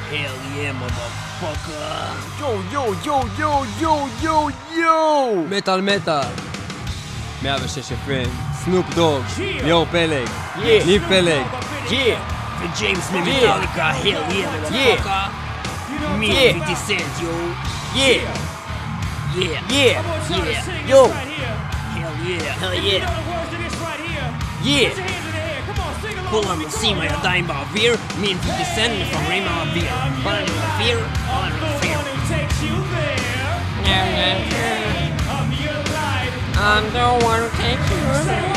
Hell yeah, motherfucker. yo. מטל מטל 106 FM, סנופ דוג, ליאור פלג, ניב פלג, וג'יימס ממטאליקה, hell yeah, motherfucker. Me 50 Cent, yo. Yeah. Yo. Hell yeah. Yeah. כולם עושים הידיים באוויר, מין 50 Cent מפררים מהאוויר. כל אני באוויר, כל אני באוויר. I'm the one who takes you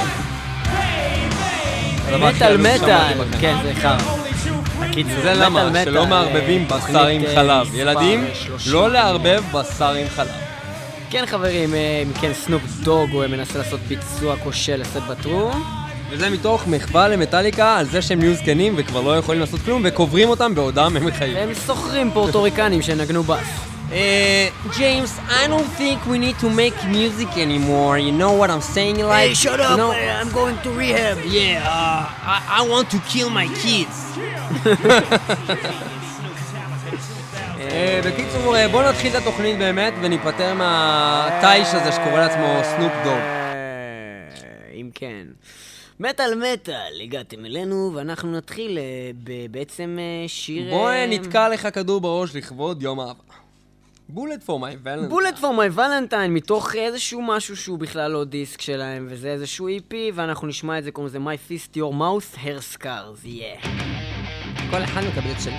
there. מטל, כן זה חר. זה למה שלא מערבבים בשר עם חלב. ילדים, לא לערבב בשר עם חלב. כן חברים, מכן סנופ דוג הוא מנסה לעשות ביצוע כושל לסט בטרום. וזה מתוך מחווה למטאליקה על זה שהם נהיו זקנים וכבר לא יכולים לעשות כלום וקוברים אותם בעודם הם חיים. הם סוחרים פורטוריקנים שנגנו בס. James, I don't think we need to make music anymore. You know what I'm saying? Like, Hey, shut up, you know... I'm going to rehab. Yeah, I want to kill my kids. בקיצור, בוא נתחיל את התוכנית באמת וניפטר מהטייש הזה שקורא לעצמו סנופ דוג. אם כן. מטל, הגעתם אלינו ואנחנו נתחיל בעצם שיר... בוא נתקע לך כדור בראש לכבוד יום אהבה. Bullet for my Valentine. Bullet for my Valentine, מתוך איזשהו משהו שהוא בכלל לא דיסק שלהם, וזה איזשהו EP, ואנחנו נשמע את זה, קוראים לזה My Fist Your Mouth, Hair Scars, yeah. כל אחד מקבל את שלו.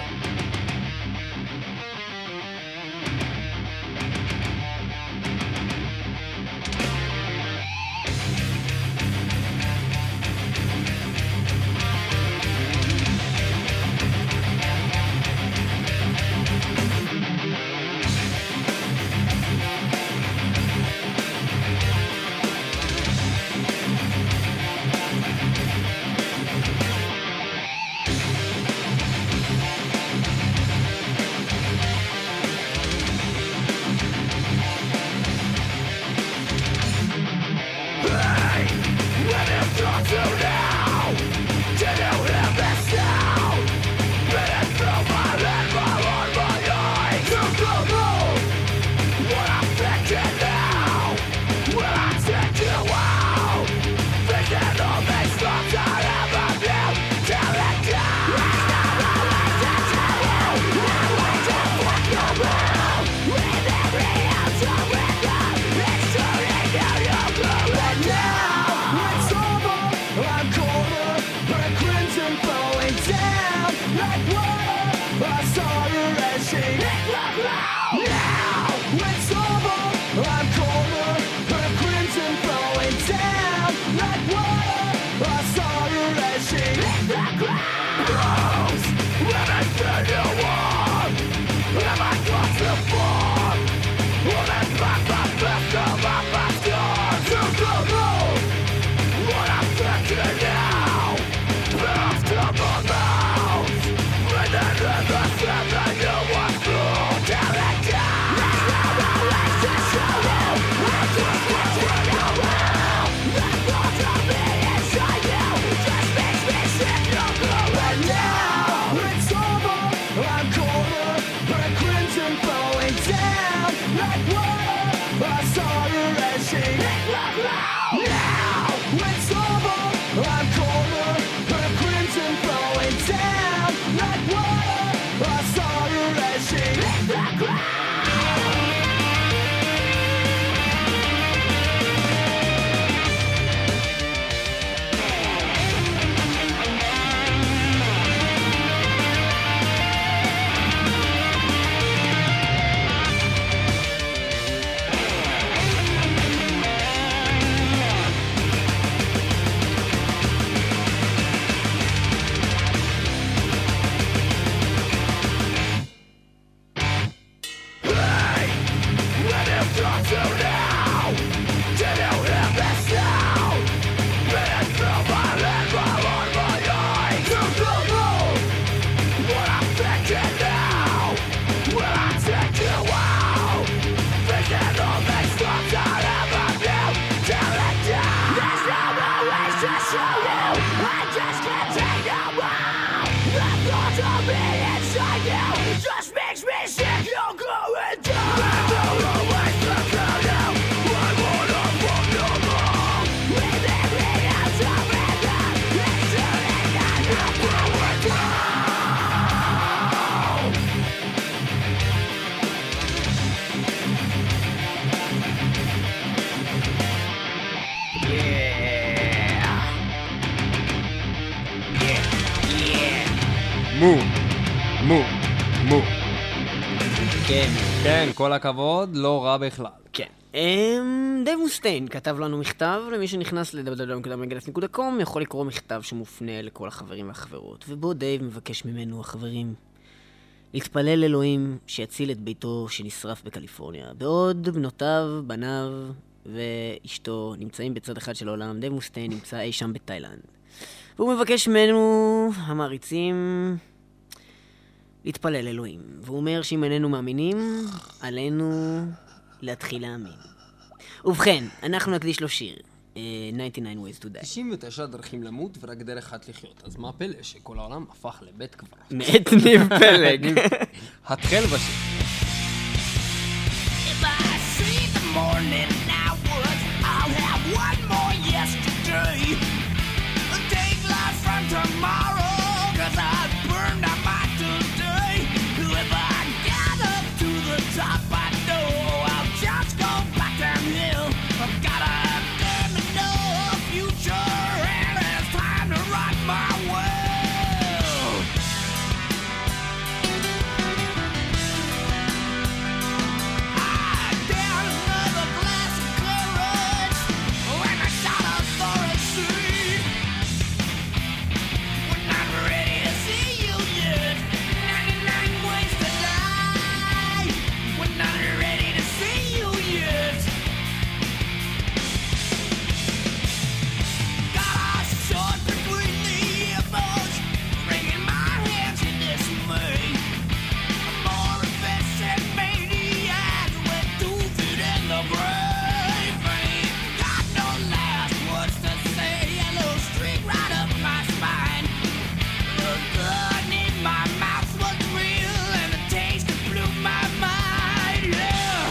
Now מו. כן. כן, כל הכבוד, לא רע בכלל. כן. דייב מוסטיין כתב לנו מכתב, למי שנכנס ל-www.megadeth.com יכול לקרוא מכתב שמופנה לכל החברים והחברות, ובו דייב מבקש ממנו, החברים, להתפלל אלוהים שיציל את ביתו שנשרף בקליפורניה. בעוד בנותיו, בניו ואשתו נמצאים בצד אחד של העולם, דייב מוסטיין נמצא אי שם בתאילנד. והוא מבקש ממנו, המעריצים, להתפלל אלוהים. והוא אומר שאם איננו מאמינים, עלינו להתחיל להאמין. ובכן, אנחנו נקדיש לו שיר, 99 Ways to Die. 99 דרכים למות ורק דרך אחת לחיות. אז מה הפלא שכל העולם הפך לבית קברות? מאת ניב פלג. התחל בשיר. If I see the morning hours, I'll have one more yesterday. Take life from tomorrow, 'cause I've burned out my today. If I get up to the top, I know I'll just go back downhill. I've got a damn enough future, and it's time to rock my world. I down another glass of courage when I shot a forest seed. We're not ready to see you yet. 99 ways to lie. We're not ready to see you yet. Got a sword between the earballs, wringing my hands in dismay. I'm more efficient maniac with 2 feet in the grave. Ain't got no last words to say. A little streak right up my spine. The gun in my mouth was real, and the taste that blew my mind. Yeah.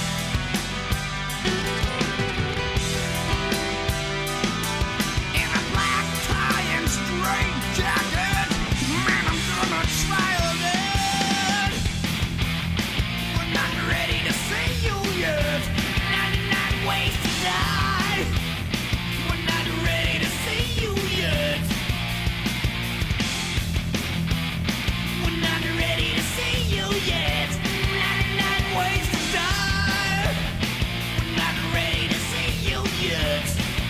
In a black tie and straight jacket, man, I'm gonna try again. We're not ready to see you yet. 99 ways to die. We're not ready to see you yet. We're not ready to see you yet. 99 ways to die. We're not ready to see you yet.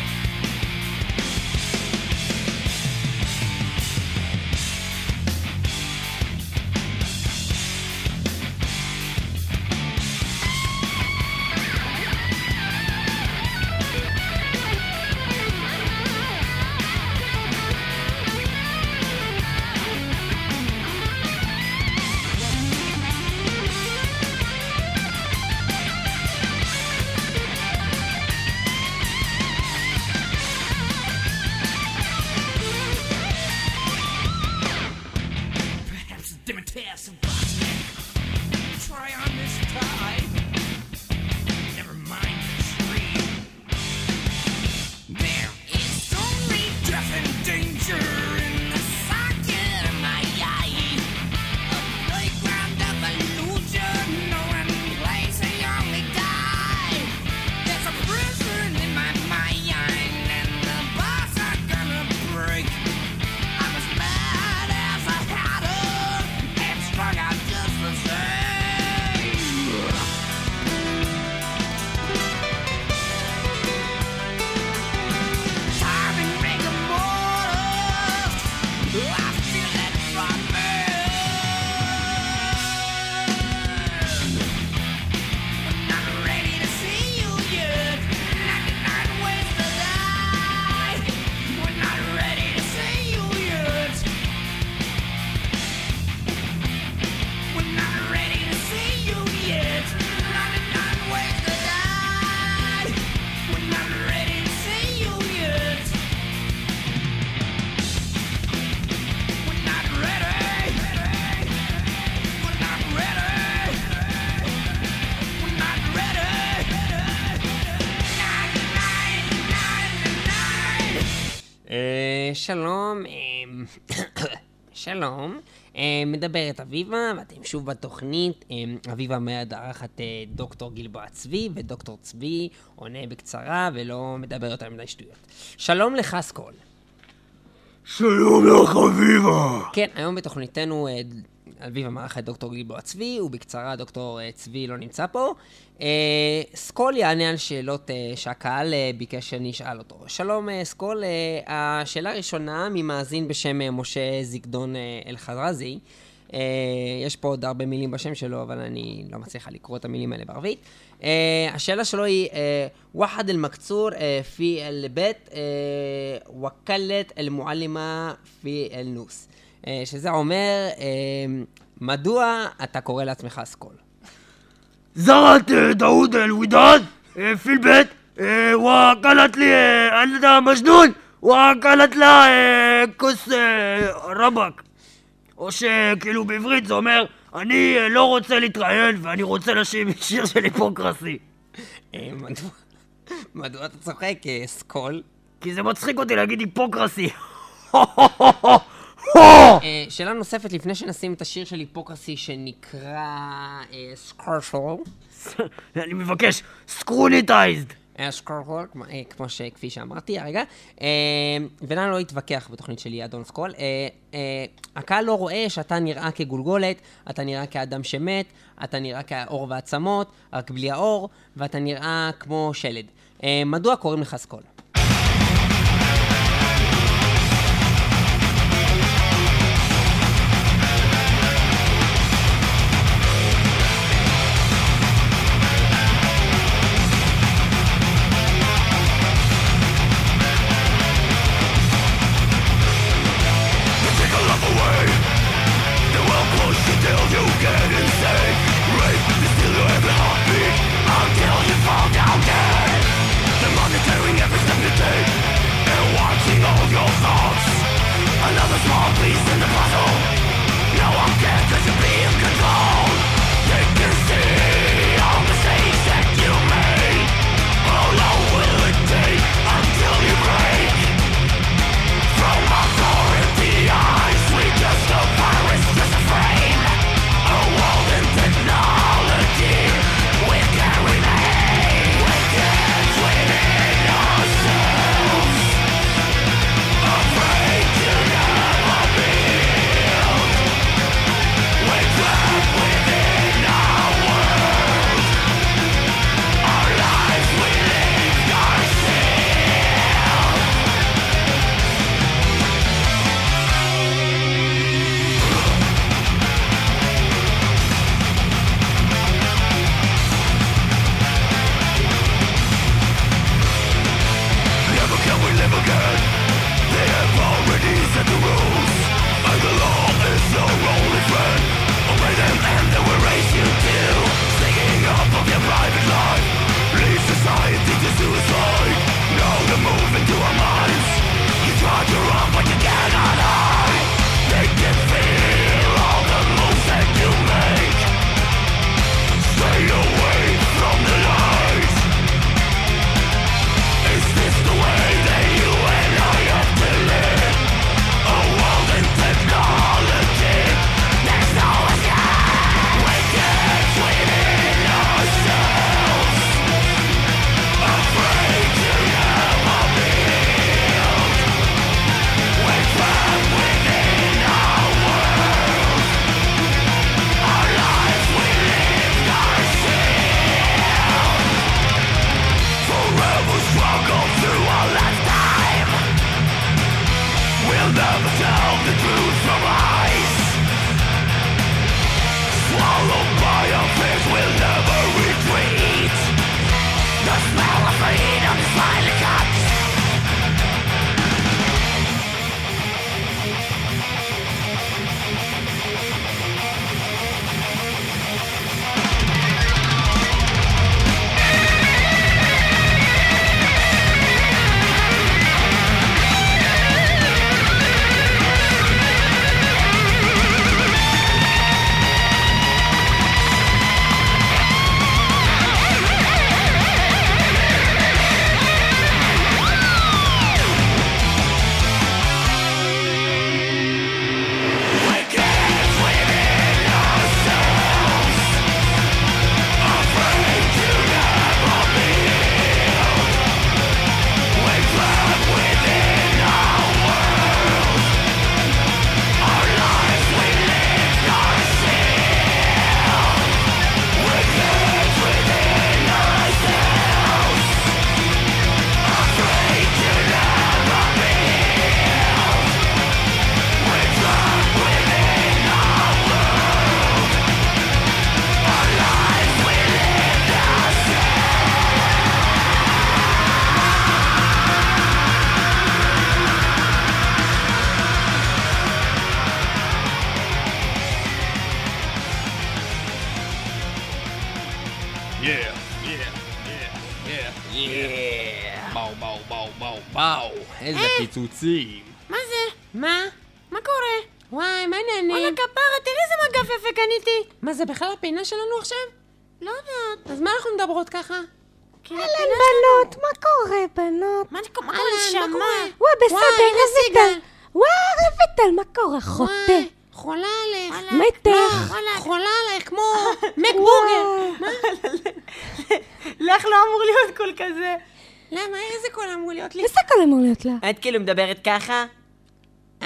Perhaps a Demeter Sebastian. Try on this tie. Never mind the tree. There is only death and danger in the socket of my eye. A playground of illusion, no one plays, they only die. There's a prison in my mind, and the bars are gonna break. I'm as mad as a hatter, and strung out just the same. Time and rigor mortis, I feel it from me. We're not ready to see you yet. 99 ways to die. We're not ready to see you yet. We're not ready to see you yet. 99 ways to die. We're not ready to see you yet. We're not ready. We're not ready. We're not ready. 99. שלום, שלום, מדברת אביבה, ואתם שוב בתוכנית. אביבה מארחת דוקטור גלבוע צבי, ודוקטור צבי עונה בקצרה ולא מדבר יותר מדי שטויות. שלום לך סקול. שלום לך אביבה. כן, היום בתוכניתנו אביבה מארחת דוקטור גלבוע צבי, ובקצרה דוקטור צבי לא נמצא פה. סקול יענה על שאלות שהקהל ביקש שאני אשאל אותו. שלום סקול, השאלה הראשונה ממאזין בשם משה זיגדון אל-חזרזי. יש פה עוד הרבה מילים בשם שלו, אבל אני לא מצליחה לקרוא את המילים האלה בערבית. השאלה שלו היא, ואחד אל-מקצור פי אל-בית, וקלת אל-מועלימה פי אל-נוס. שזה אומר, מדוע אתה קורא לעצמך סקול? زرعت داود الوداد في البيت وقالت لي أنت مجنون وقالت לה כוס רבק. או שכאילו בעברית זה אומר, אני לא רוצה להתראיין ואני רוצה לשיר שיר של היפוקרסי. מדוע אתה צוחק סקול? כי זה מצחיק אותי להגיד היפוקרסי. שאלה נוספת לפני שנשים את השיר של היפוקרסי שנקרא סקרשול. אני מבקש, סקרוניטייזד. סקרשול, כפי שאמרתי הרגע. ונאי לא התווכח בתוכנית שלי אדון סקול. הקהל לא רואה שאתה נראה כגולגולת, אתה נראה כאדם שמת, אתה נראה כאור ועצמות, רק בלי האור, ואתה נראה כמו שלד. מדוע קוראים לך סקול? Afraid to never be וואו, איזה פיצוצים. מה זה? מה קורה? וואי, מה העניינים? וואלה כפרה, תראי איזה מגף יפה קניתי. מה זה בכלל הפינה שלנו עכשיו? לא יודעת. אז מה אנחנו מדברות ככה? אהלן בנות, מה קורה בנות? מה קורה? נשמה? וואי, בסדר, רויטל. וואי, רויטל, מה קורה? חוטא. חולה עליך. מתך. חולה עליך, כמו מקבורגר. מה? לך לא אמור להיות קול כזה. למה? איזה קול אמור להיות לי? איזה קול אמור להיות לה? את כאילו מדברת ככה? אז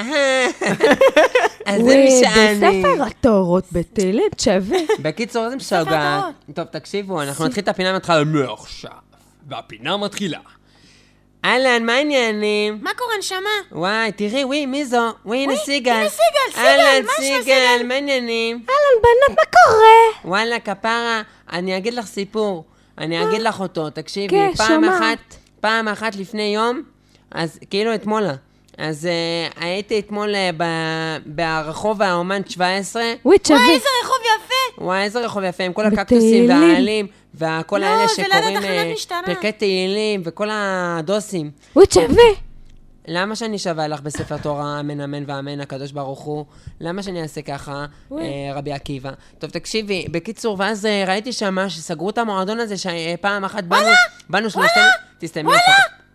זה משעני. בספר התורות בתל שווה. בקיצור, איזה משוגע. טוב, תקשיבו, אנחנו נתחיל את הפינה מתחילה מעכשיו. והפינה מתחילה. אהלן, מה העניינים? מה קורה נשמה? וואי, תראי, וואי, מי זו? וואי, הנה סיגל. הנה סיגל, אהלן, מה יש סיגל, מה העניינים? אהלן בנות, מה קורה? וואלה, כפרה, אני אגיד לך סיפור. אני אגיד לך אותו, תקשיבי. כן, שומעת. פעם אחת לפני יום, אז כאילו אתמולה. אז הייתי אתמול ברחוב האומן 17. וואי, שווה. וואי, איזה רחוב יפה! וואי, איזה רחוב יפה, עם כל הקקטוסים והעלים, וכל האלה לא, זה ליד שקוראים התחנת משטרה. פרקי תהילים, וכל הדוסים. וואי, שווה. למה שאני שווה לך בספר תורה, אמן אמן ואמן, הקדוש ברוך הוא? למה שאני אעשה ככה, רבי עקיבא? טוב, תקשיבי, בקיצור, ואז ראיתי שמה שסגרו את המועדון הזה, שפעם אחת באנו שלושתנו... תסתיימי לך.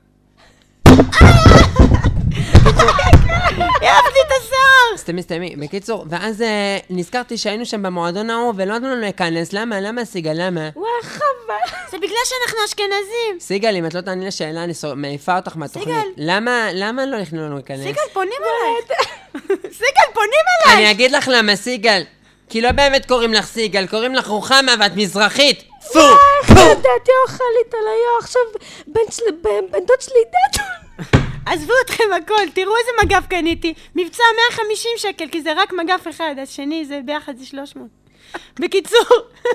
יאהבתי את השיער! סתמי. בקיצור, ואז נזכרתי שהיינו שם במועדון ההוא, ולא נתנו לנו להיכנס. למה, סיגל, למה? וואי, חבל. זה בגלל שאנחנו אשכנזים. סיגל, אם את לא תעני לשאלה, אני מעיפה אותך מהתוכנית. למה לא נכנו לנו להיכנס? סיגל, פונים אליי. סיגל, פונים אליי! אני אגיד לך למה, סיגל. כי לא באמת קוראים לך סיגל, קוראים לך רוחמה ואת מזרחית. פו! דעתי אוכלית על היו, עכשיו בן דוד שלי דד. עזבו אתכם הכל, תראו איזה מגף קניתי. מבצע 150 שקל, כי זה רק מגף אחד, השני זה ביחד זה 300. בקיצור,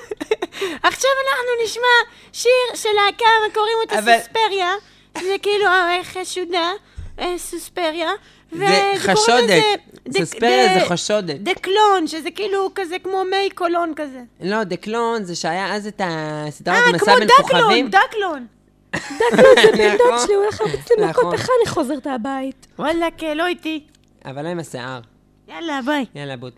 עכשיו אנחנו נשמע שיר של להקה, קוראים אותה סוספריה, זה כאילו חשודה, סוספריה. זה חשודת, סוספריה זה חשודת. דקלון, שזה כאילו כזה כמו מי קולון כזה. לא, דקלון זה שהיה אז את הסדרת מסע בין כוכבים. דקלון. דקלון זה בן דוד שלי, הוא הולך לבצע מכות, איך אני חוזרת הבית? וואלה, לא איתי. אבל לא עם השיער. יאללה, ביי. יאללה, בוט.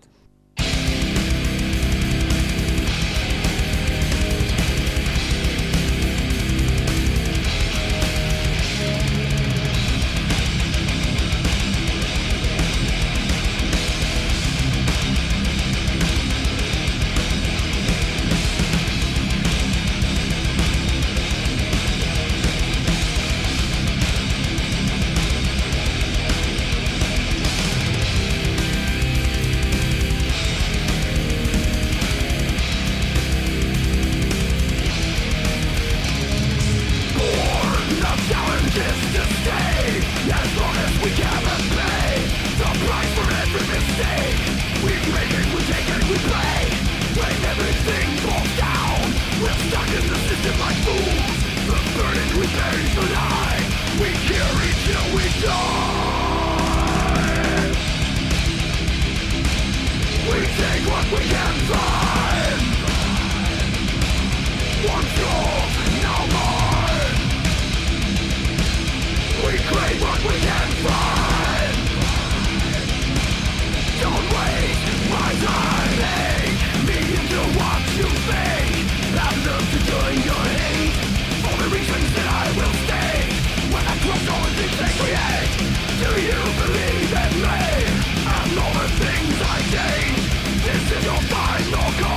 This is your final call.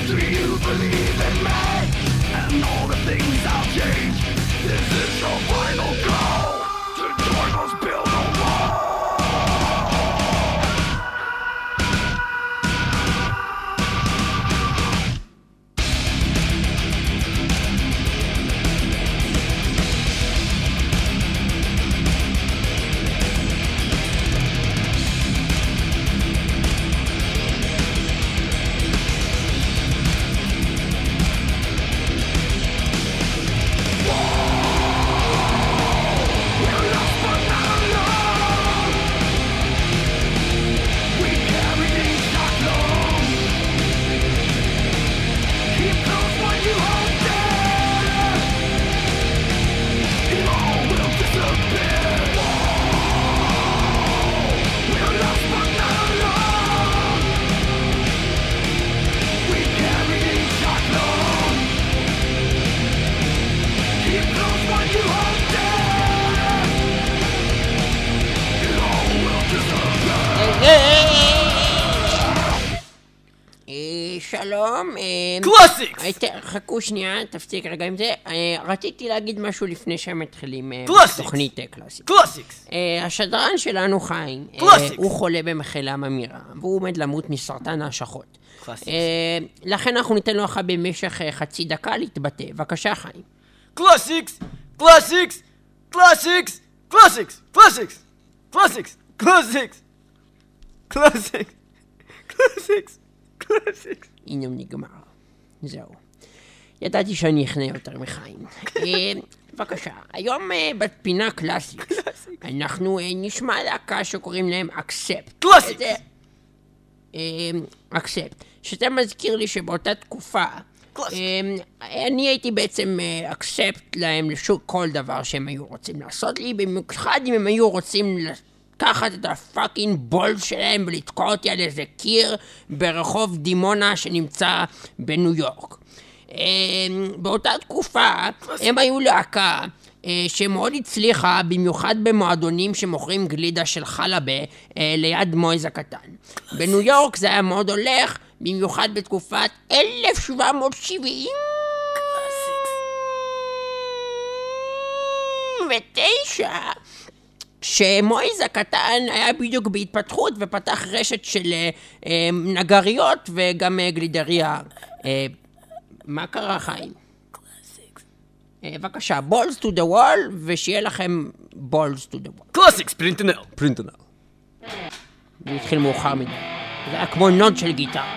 שלום. קלאסיקס! חכו שנייה, תפסיק רגע עם זה. רציתי להגיד משהו לפני שהם מתחילים תוכנית קלאסיקס. קלאסיקס! השדרן שלנו חיים, הוא חולה במחלה ממאירה, והוא עומד למות מסרטן ההשכות. לכן אנחנו ניתן לו במשך חצי דקה להתבטא. בבקשה חיים. קלאסיקס! קלאסיקס! קלאסיקס! קלאסיקס! קלאסיקס! קלאסיקס! קלאסיקס! קלאסיקס! קלאסיקס! קלאסיקס! הנה נגמר. זהו. ידעתי שאני אכנה יותר מחיים. בבקשה, היום בפינה קלאסיקס, אנחנו נשמע להקה שקוראים להם אקספט. קלאסיקס! אקספט. שזה מזכיר לי שבאותה תקופה, אני הייתי בעצם אקספט להם לשוק כל דבר שהם היו רוצים לעשות לי, במיוחד אם הם היו רוצים לקחת את הפאקינג בולס שלהם ולתקוע אותי על איזה קיר ברחוב דימונה שנמצא בניו יורק. באותה תקופה הם היו להקה שמאוד הצליחה, במיוחד במועדונים שמוכרים גלידה של חלבה ליד מויז הקטן. בניו יורק זה היה מאוד הולך, במיוחד בתקופת 1779, שמויז הקטן היה בדיוק בהתפתחות ופתח רשת של נגריות וגם גלידריה. מה קרה חיים? בבקשה, balls to the wall, ושיהיה לכם balls to the wall. קלאסיקס! פרינטנל! פרינטנל. זה התחיל מאוחר מדי. זה היה כמו נוד של גיטרה.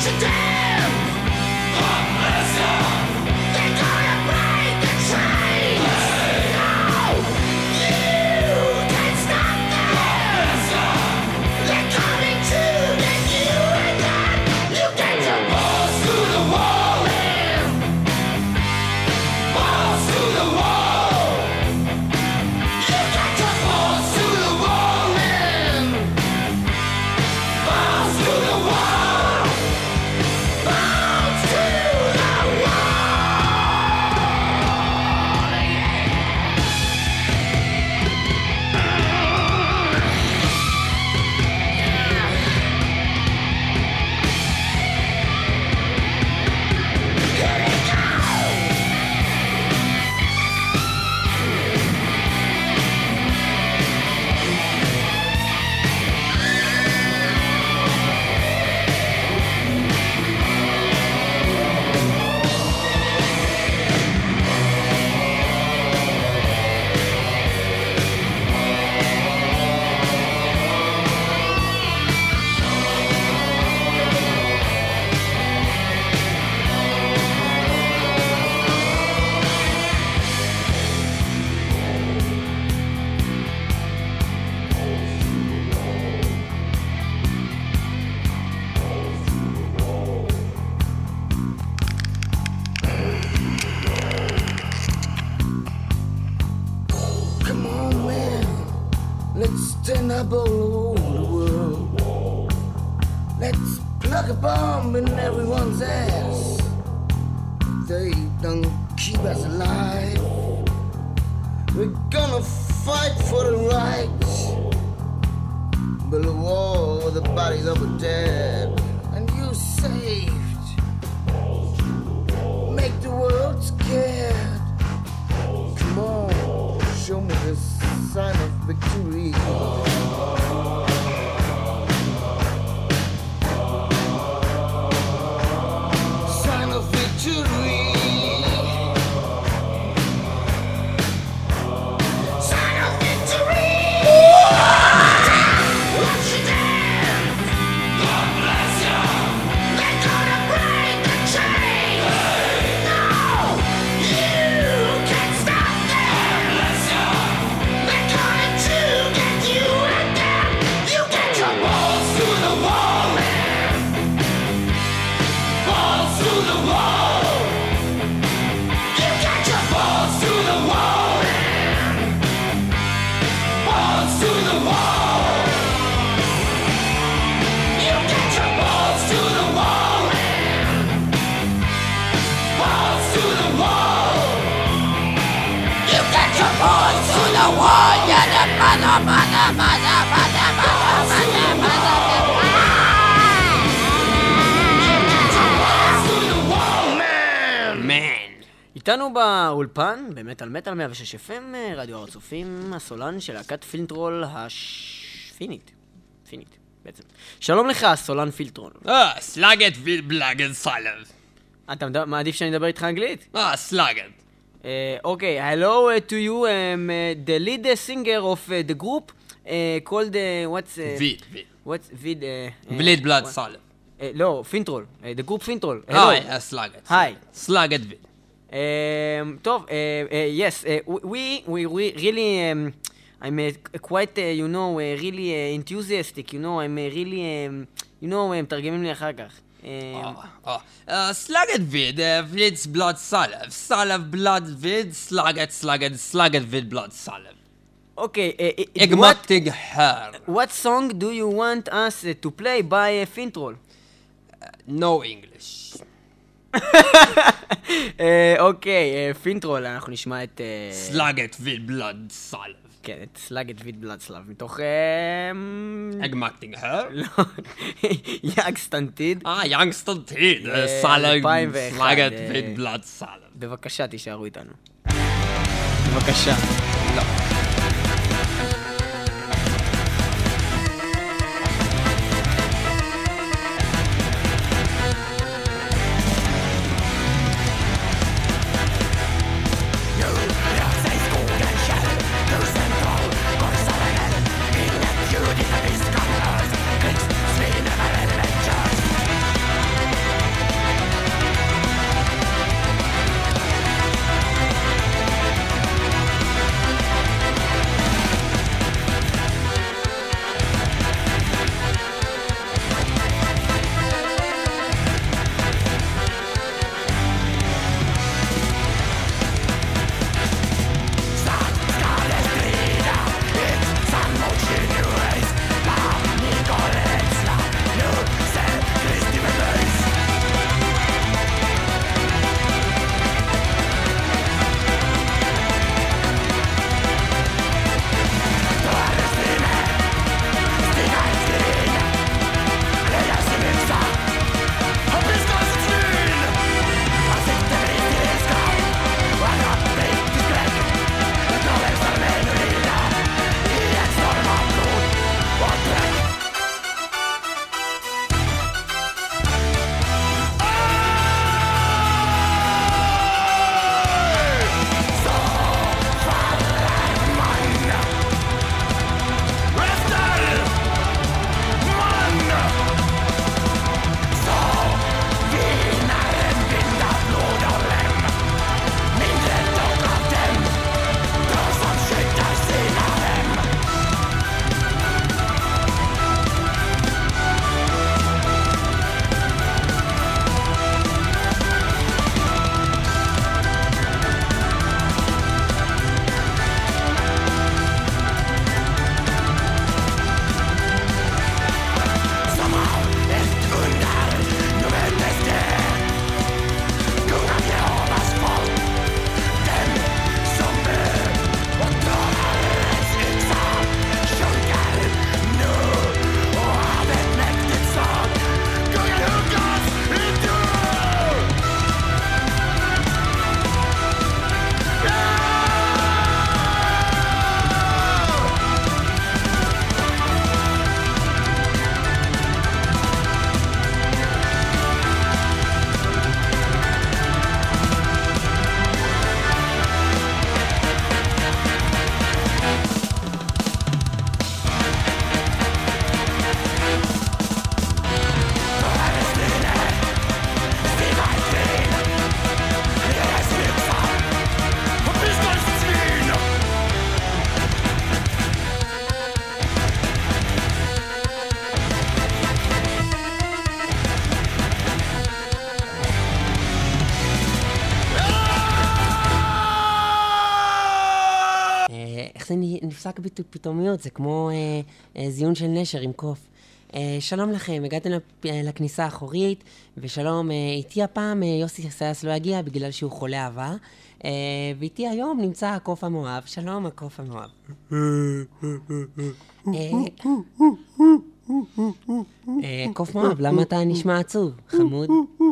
up all over the world. Let's plug a bomb in everyone's ass. They don't keep us alive. We're gonna fight for the right. Build a wall with the bodies of the dead. And you saved. Make the world scared. Come on, show me the sign of victory. Sign of victory. Sign of victory. What you did? God bless you. They're gonna break the chain. No, you can't stop them. God bless you. They're coming to get you and them. You get your balls to the wall, man. Balls to the wall. You get your balls to the wall, man. Balls to the wall. You get your balls to the wall, man. Balls to the wall. You get your balls to the wall. Yeah, the מן. איתנו באולפן, במטל מטל 106 FM, רדיו הר הצופים, הסולן של להקת פילטרול השפינית. פינית, בעצם. שלום לך, סולן פילטרול. סלאגט ובלאגד סלב. אתה מעדיף שאני אדבר איתך אנגלית? סלאגט. Okay, hello to you, the lead singer of the group called, what's... Vid. What's Vid? בליד בלאד סלב. לא, פינטרול, the group פינטרול. היי, סלאגט. היי. סלאגט ויד. טוב, yes, we really, I'm quite, you know, really enthusiastic, you know, I'm really, you know, מתרגמים לי אחר כך. סלאגט ויד, ויד's בלאד סלב. סלב בלאד ויד, סלאגט ויד בלאד סלב. Okay, אגמטיג הר. what song do you want us to play by Fintrol? No English. אוקיי, פינטרול, אנחנו נשמע את... סלאגט ויד בלאד סלב. כן, את סלאגט ויד בלאד סלב, מתוך... אגמטיג הר? לא, יאג סטנטיד. יאנג סטנטיד. סלאגט ויד בלאד סלב. בבקשה, תישארו איתנו. בבקשה. לא. Adventures. זה נפסק פתאומיות, זה כמו זיון של נשר עם קוף. שלום לכם, הגעתם לכניסה האחורית, ושלום, איתי הפעם יוסי סייס לא יגיע בגלל שהוא חולה אהבה, ואיתי היום נמצא הקוף המואב. שלום, הקוף המואב. קוף מואב, למה אתה נשמע עצוב, חמוד?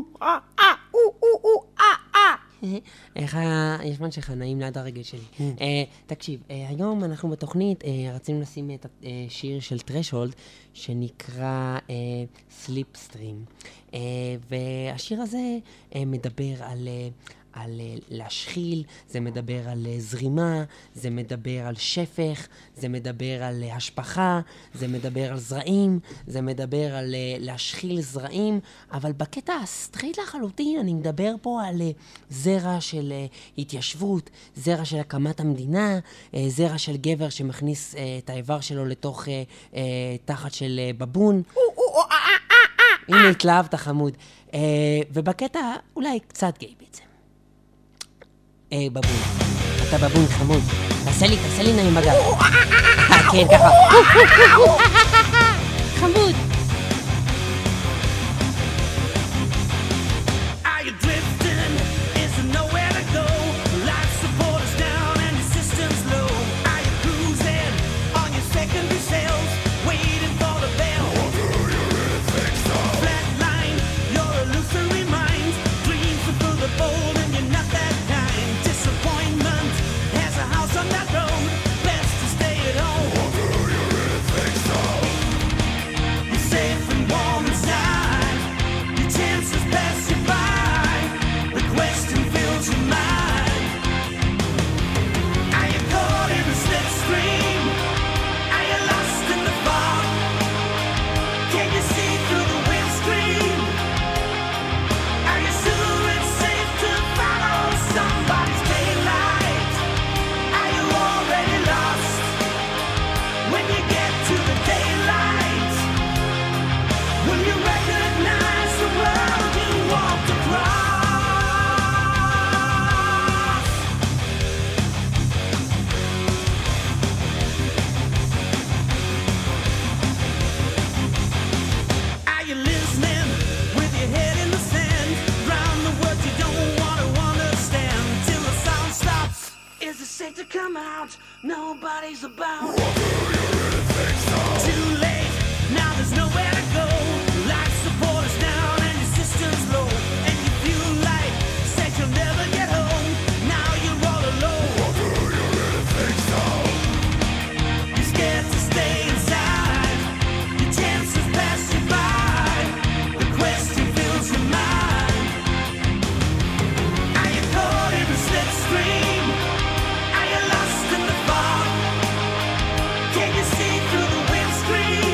איך הישמן שלך נעים ליד הרגל שלי. תקשיב, היום אנחנו בתוכנית רצינו לשים את השיר של טרשולד שנקרא סליפסטרים, והשיר הזה מדבר על להשחיל, זה מדבר על זרימה, זה מדבר על שפך, זה מדבר על השפחה, זה מדבר על זרעים, זה מדבר על להשחיל זרעים, אבל בקטע הסטרייט לחלוטין אני מדבר פה על זרע של התיישבות, זרע של הקמת המדינה, זרע של גבר שמכניס את האיבר שלו לתוך תחת של בבון. הנה התלהבת חמוד. ובקטע אולי קצת גיי בעצם. בבון. אתה בבון חמוד. תעשה לי נעים בגב. כן, ככה. חמוד. Nobody's about. Too late, now there's nowhere to go. Life support is down and your system's low. And you feel like said you'll never get home. Now you're all alone. What do you really think so? You're scared to stay inside. Your chances pass you by. The question fills your mind. Are you caught in the slipstream? Are you lost in the fog? Can you see through the windscreen?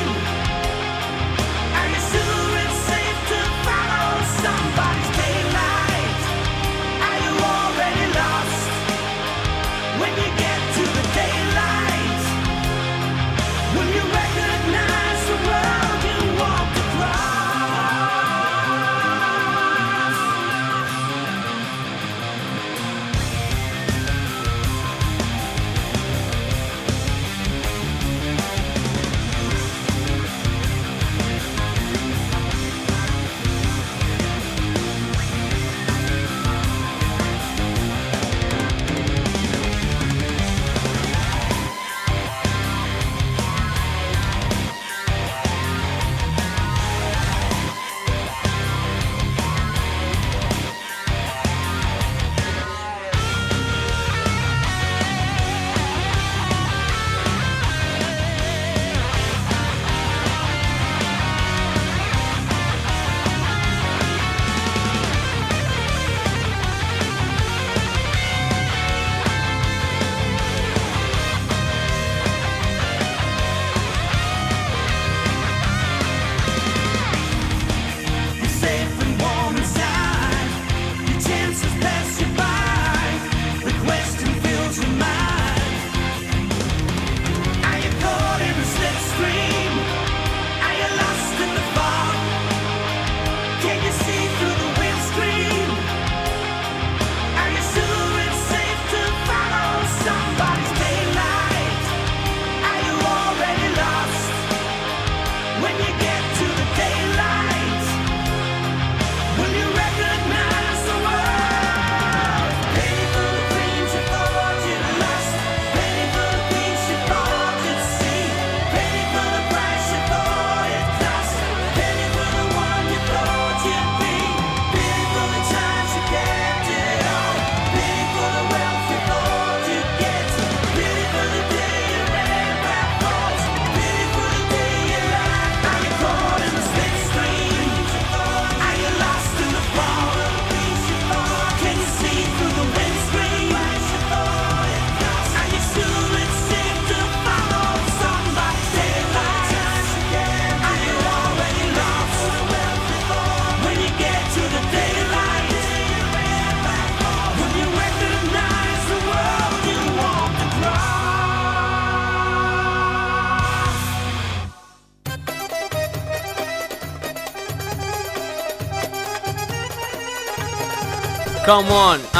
come on.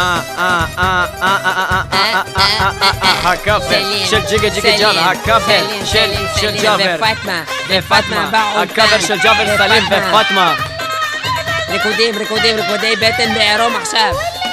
הכאפר של ג'יגה ג'יגה ג'אבר, הכאפר של ג'אבר ופאטמה באו הכאפר של ג'אבר סלים ופאטמה. ריקודי בטן בעירום עכשיו.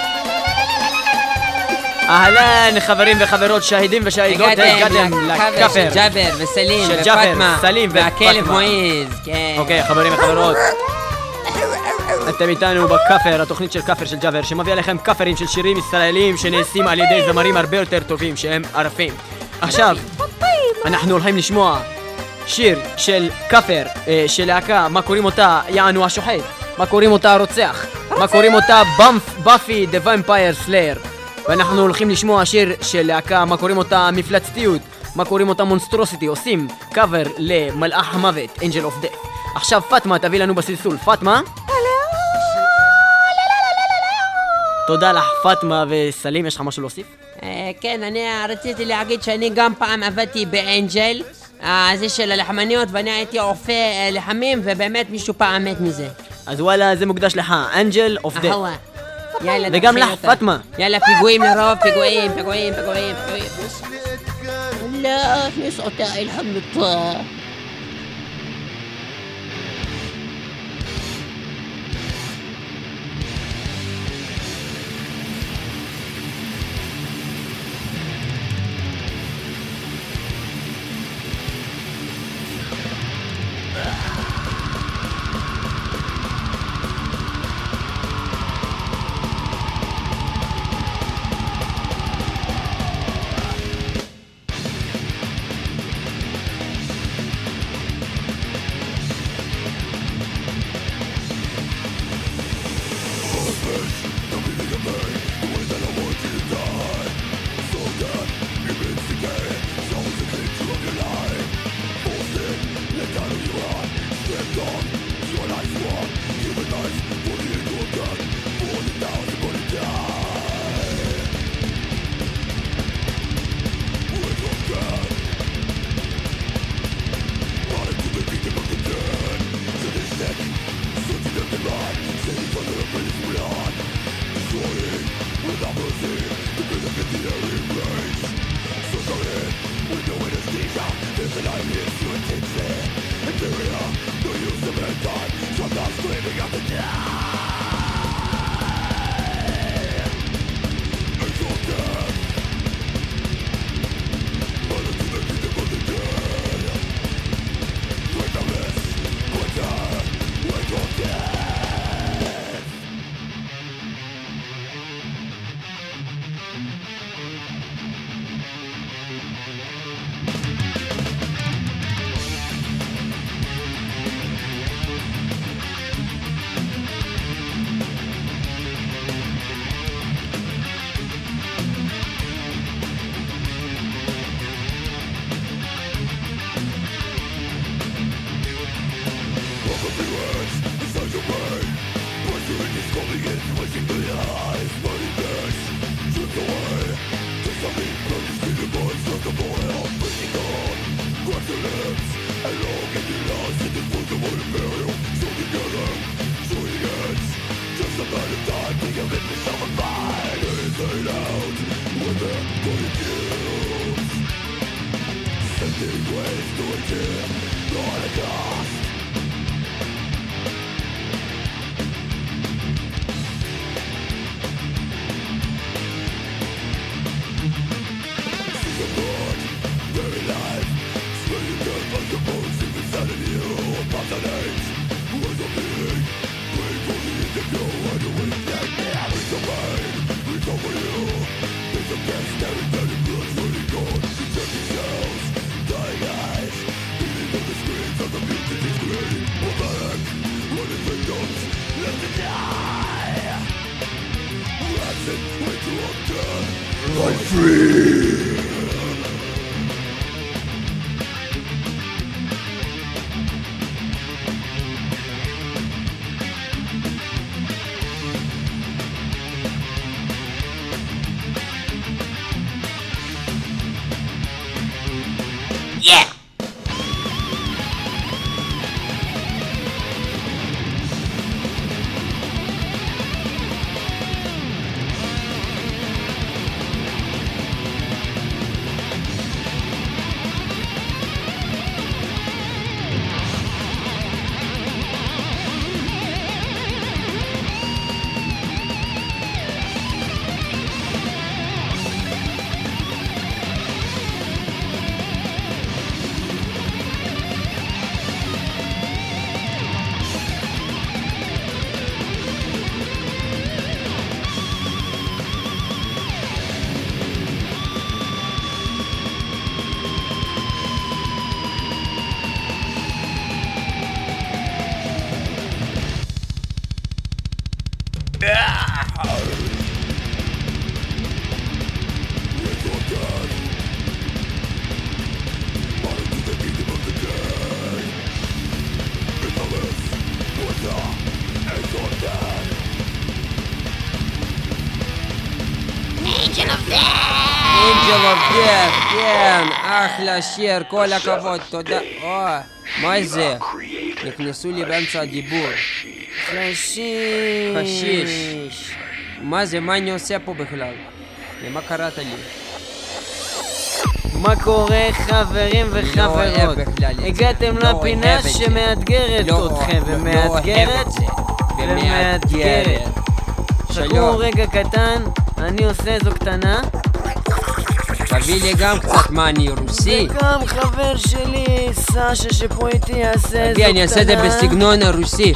אהלן חברים וחברות, שהידים ושהידות, הגעתם לכאפר של ג'אבר וסלים של ג'אבר, ופאטמה סלים והכלב ופאטמה. מועיז, כן. אוקיי, חברים וחברות, אתם איתנו בכאפר, התוכנית של כאפר של ג'אבר, שמביא עליכם כאפרים של שירים ישראלים שנעשים על ידי זמרים הרבה יותר טובים שהם ערפים. עכשיו אנחנו הולכים לשמוע שיר של כאפר של להקה, מה קוראים אותה? יענו השוחט. מה קוראים אותה? הרוצח. מה קוראים אותה? באפי דה ומפייר סלייר. ואנחנו הולכים לשמוע שיר של להקה, מה קוראים אותה? מפלצתיות. מה קוראים אותה? מונסטרוסיטי. עושים קאבר למלאך המוות, אנג'ל אוף דף. עכשיו פאטמה תביא לנו בסלסול. פאטמה? תודה לך פאטמה. וסלים, יש לך משהו להוסיף? כן, אני רציתי להגיד שאני גם פעם עבדתי באנג'ל, זה של הלחמניות, ואני הייתי אופה לחמים, ובאמת מישהו פעם מת מזה. אז וואלה, זה מוקדש לך, אנג'ל אוף דף. יאללה, וגם תתחיל לך אותה. פאטמה. יאללה, פיגועים לרוב, פיגועים. لا نسقط الحمد כן, כן, אחלה שיר, כל הכבוד, תודה. מה זה? נכנסו לי באמצע הדיבור. חשיש. מה זה? מה אני עושה פה בכלל? למה קראת לי? מה קורה חברים וחברות? הגעתם לפינה שמאתגרת אתכם ומאתגרת. חכו רגע קטן, אני עושה איזו קטנה. תביא לי גם קצת, מה אני רוסי? וגם חבר שלי, סשה שפה איתי יעשה איזו קטנה. אני אעשה את זה בסגנון הרוסי.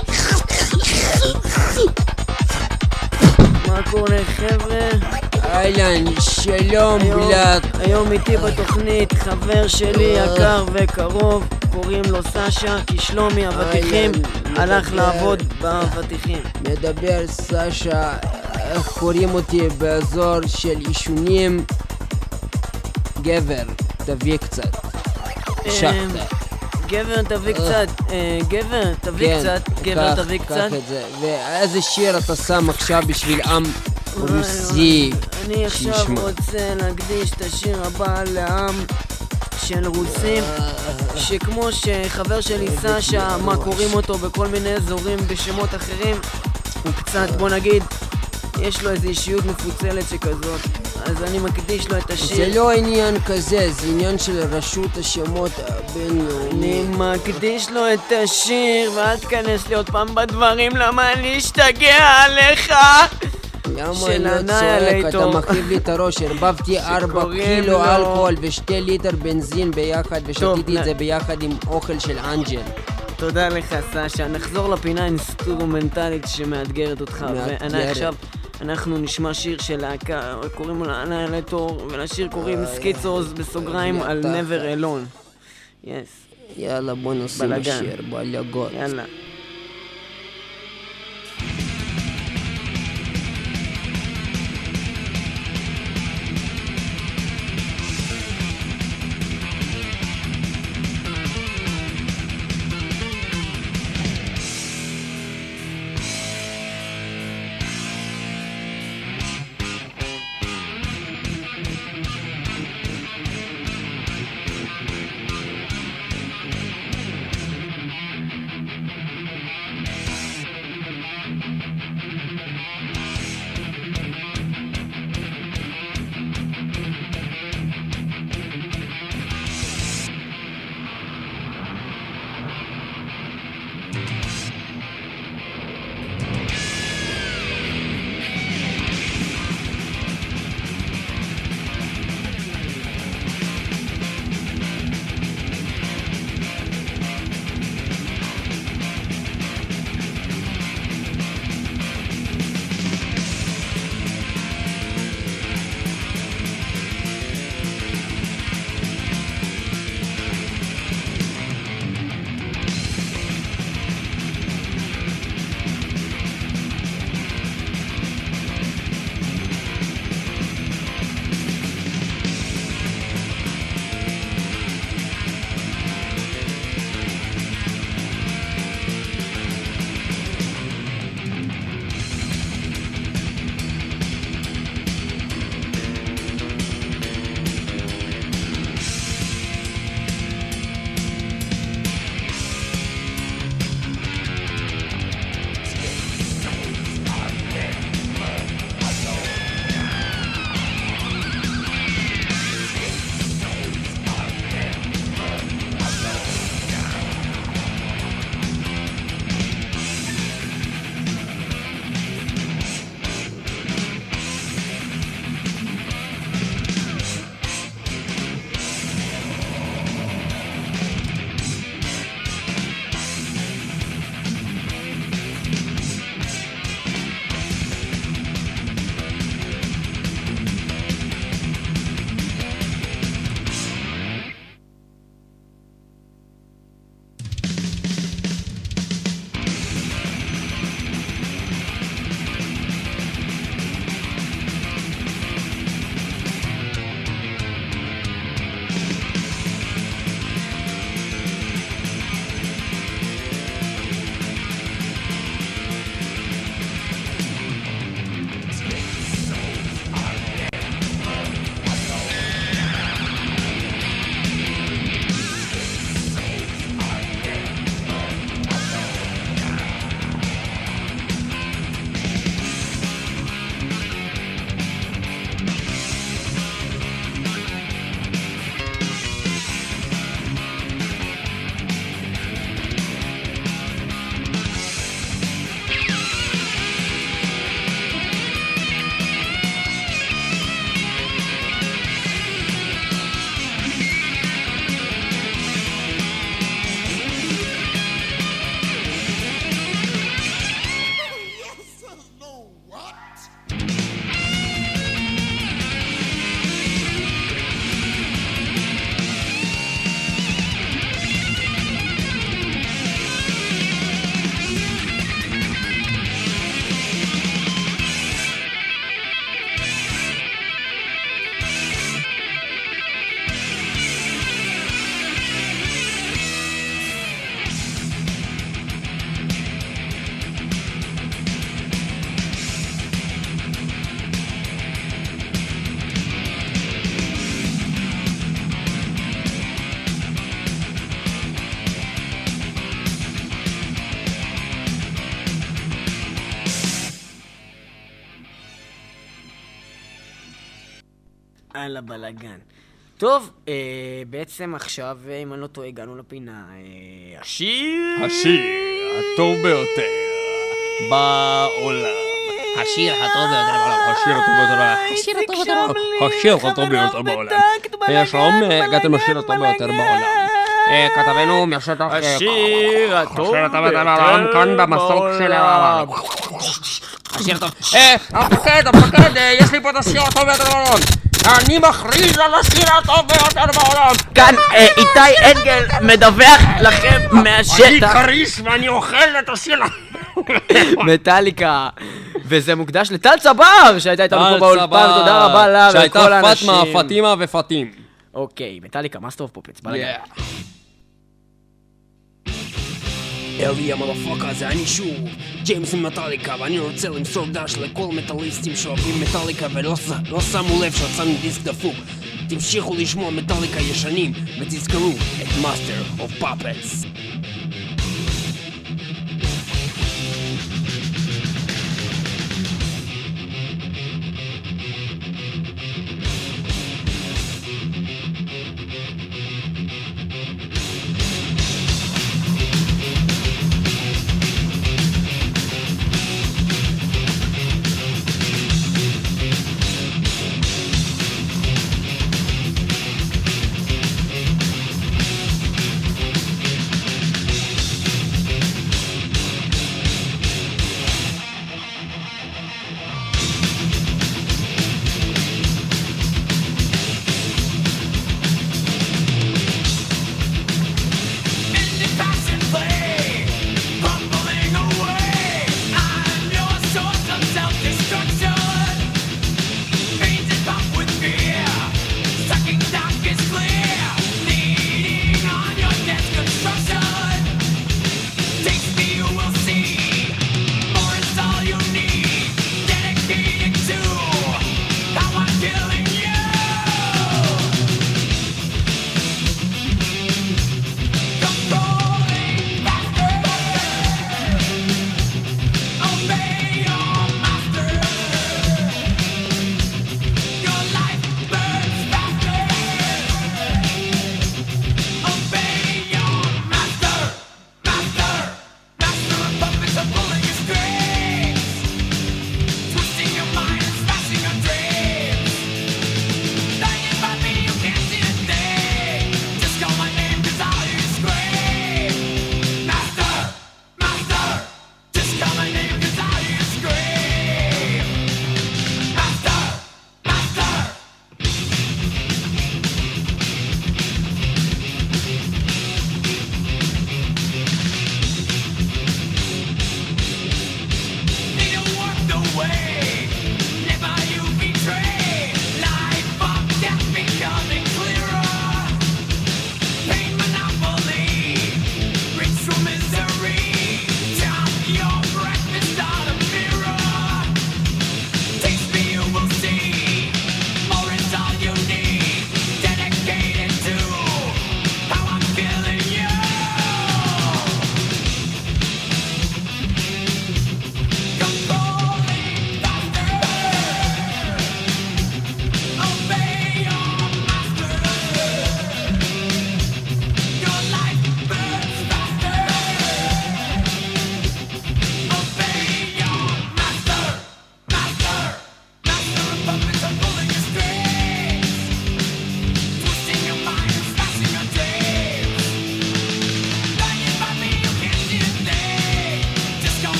מה קורה חבר'ה? אהלן, שלום בלק. היום איתי בתוכנית חבר שלי יקר וקרוב, קוראים לו סשה, כי שלומי הוותיכים הלך לעבוד בוותיכים. מדבר סשה, איך קוראים אותי באזור של אישונים? גבר, תביא קצת. שחטה. גבר תביא קצת, גבר תביא קצת, גבר תביא קצת. קח את זה. ואיזה שיר אתה שם עכשיו בשביל עם רוסי? אני עכשיו רוצה להקדיש את השיר הבא לעם של רוסים, שכמו שחבר שלי סשה, מה קוראים אותו בכל מיני אזורים בשמות אחרים, הוא קצת, בוא נגיד, יש לו איזו אישיות מפוצלת שכזאת, אז אני מקדיש לו את השיר. זה לא עניין כזה, זה עניין של רשות השמות הבינלאומי. אני מקדיש לו את השיר, ואל תכנס לי עוד פעם בדברים, למה אני אשתגע עליך? למה אני לא צועק? אתה מכאיב לי את הראש. הרבבתי 4 קילו אלכוהול ו2 ליטר בנזין ביחד, ושתיתי את זה ביחד עם אוכל של אנג'ל. תודה לך סשה. נחזור לפינה אינסטרומנטלית שמאתגרת אותך. ועכשיו אנחנו נשמע שיר של להקה, קוראים לה אנהילטור, ולשיר קוראים סקיצוז בסוגריים על Never Alone. יאללה, בוא נשים השיר, בלגות. יאללה. על הבלגן. טוב, בעצם עכשיו, אם אני לא טועה, הגענו לפינה. השיר הטוב ביותר בעולם. השיר הטוב ביותר בעולם. השיר הטוב ביותר בעולם. השיר הטוב ביותר בעולם. השיר הטוב ביותר בעולם. שלום, הגעתם לשיר הטוב ביותר בעולם. כתבנו מהשטח... השיר הטוב ביותר בעולם, כאן במסוק של העולם. השיר הטוב. המפקד, יש לי פה את השיר הטוב ביותר בעולם. אני מכריז על השיר הטוב ביותר בעולם. כאן איתי אנגל מדווח לכם מהשטח. אני קריש ואני אוכל את השיר. מטליקה. וזה מוקדש לטל צבר, שהייתה איתנו פה באולפן, תודה רבה לה ולכל האנשים. שהייתה פטמה, פטימה ופטים. אוקיי, מטליקה, מה סטוב פופץ? בלגן. אליה מלפוקה, זה אני שוב, ג'יימס ממטליקה, ואני רוצה למסור דש לכל מטליסטים שאוהבים מטליקה ולא שמו לב שהוצאנו דיסק דפוק. תמשיכו לשמוע מטליקה ישנים ותזכרו את Master of Puppets.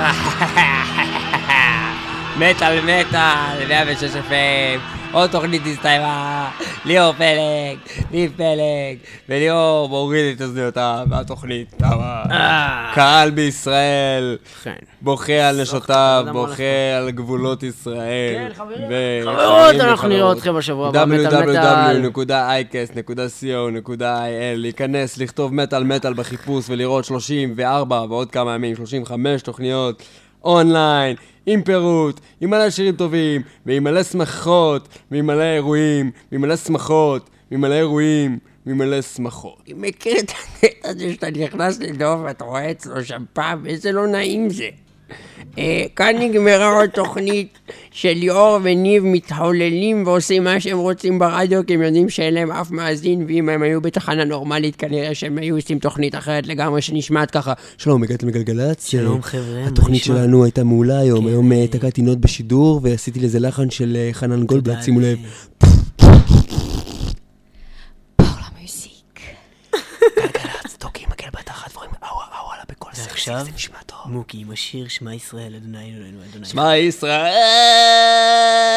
מטל, 106 FM, עוד תוכנית הסתיימה, ליאור פלג, ניב פלג, וליאור מוריד את אוזניותיו מהתוכנית. קהל בישראל, בוכה על נשותיו, בוכה על גבולות ישראל. כן, חברות, אנחנו נראה אתכם בשבוע הבא, www.icast.co.il, להיכנס, לכתוב מטל בחיפוש ולראות 34 ועוד כמה ימים, 35 תוכניות אונליין, עם פירוט, עם מלא שירים טובים, ועם מלא שמחות, ועם מלא אירועים, ועם מלא שמחות, ועם מלא אירועים, ועם מלא שמחות. אני מכיר את הקטע הזה שאתה נכנס לדוב ואתה רואה אצלו שם פעם, איזה לא נעים זה. כאן נגמרה עוד תוכנית של ליאור וניב מתחוללים ועושים מה שהם רוצים ברדיו, כי הם יודעים שאין להם אף מאזין, ואם הם היו בתחנה נורמלית כנראה שהם היו עושים תוכנית אחרת לגמרי שנשמעת ככה. שלום, הגעתם לגלגלצ. שלום חבר'ה. התוכנית שלנו הייתה מעולה היום, היום תקעתי נוט בשידור ועשיתי לזה לחן של חנן גולדבלט, שימו לב. גלגלצ, תוקעים מקל בתחת דברים, אוואלה בכל סקסי, זה נשמע טוב. מוקי עם השיר שמע ישראל, אדוני אלוהינו, אדוני. שמע ישראל!